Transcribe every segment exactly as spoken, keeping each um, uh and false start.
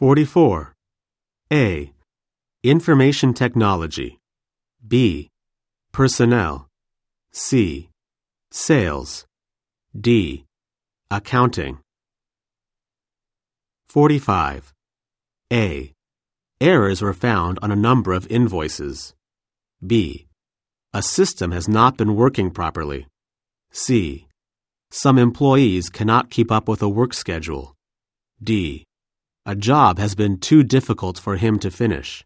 forty-four. A. Information technology. B. Personnel. C. Sales. D. Accounting. forty-five. A. Errors were found on a number of invoices. B. A system has not been working properly. C. Some employees cannot keep up with a work schedule. D. A job has been too difficult for him to finish.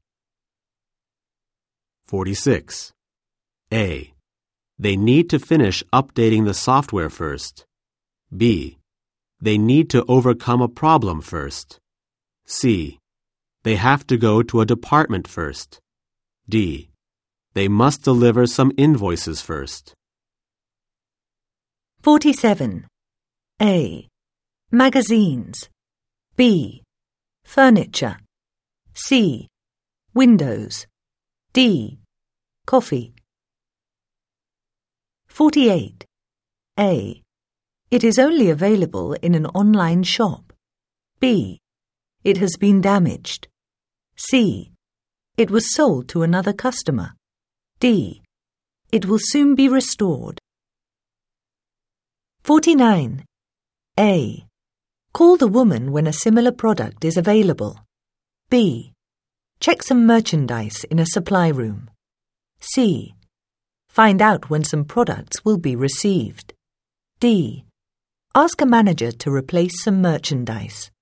forty-six. A. They need to finish updating the software first. B. They need to overcome a problem first. C. They have to go to a department first. D. They must deliver some invoices first. forty-seven. A. Magazines. B. Furniture. C. Windows. D. Coffee. forty-eight. A. It is only available in an online shop. B. It has been damaged. C. It was sold to another customer. D. It will soon be restored. forty-nine. A. Call the woman when a similar product is available. B. Check some merchandise in a supply room. C. Find out when some products will be received. D. Ask a manager to replace some merchandise.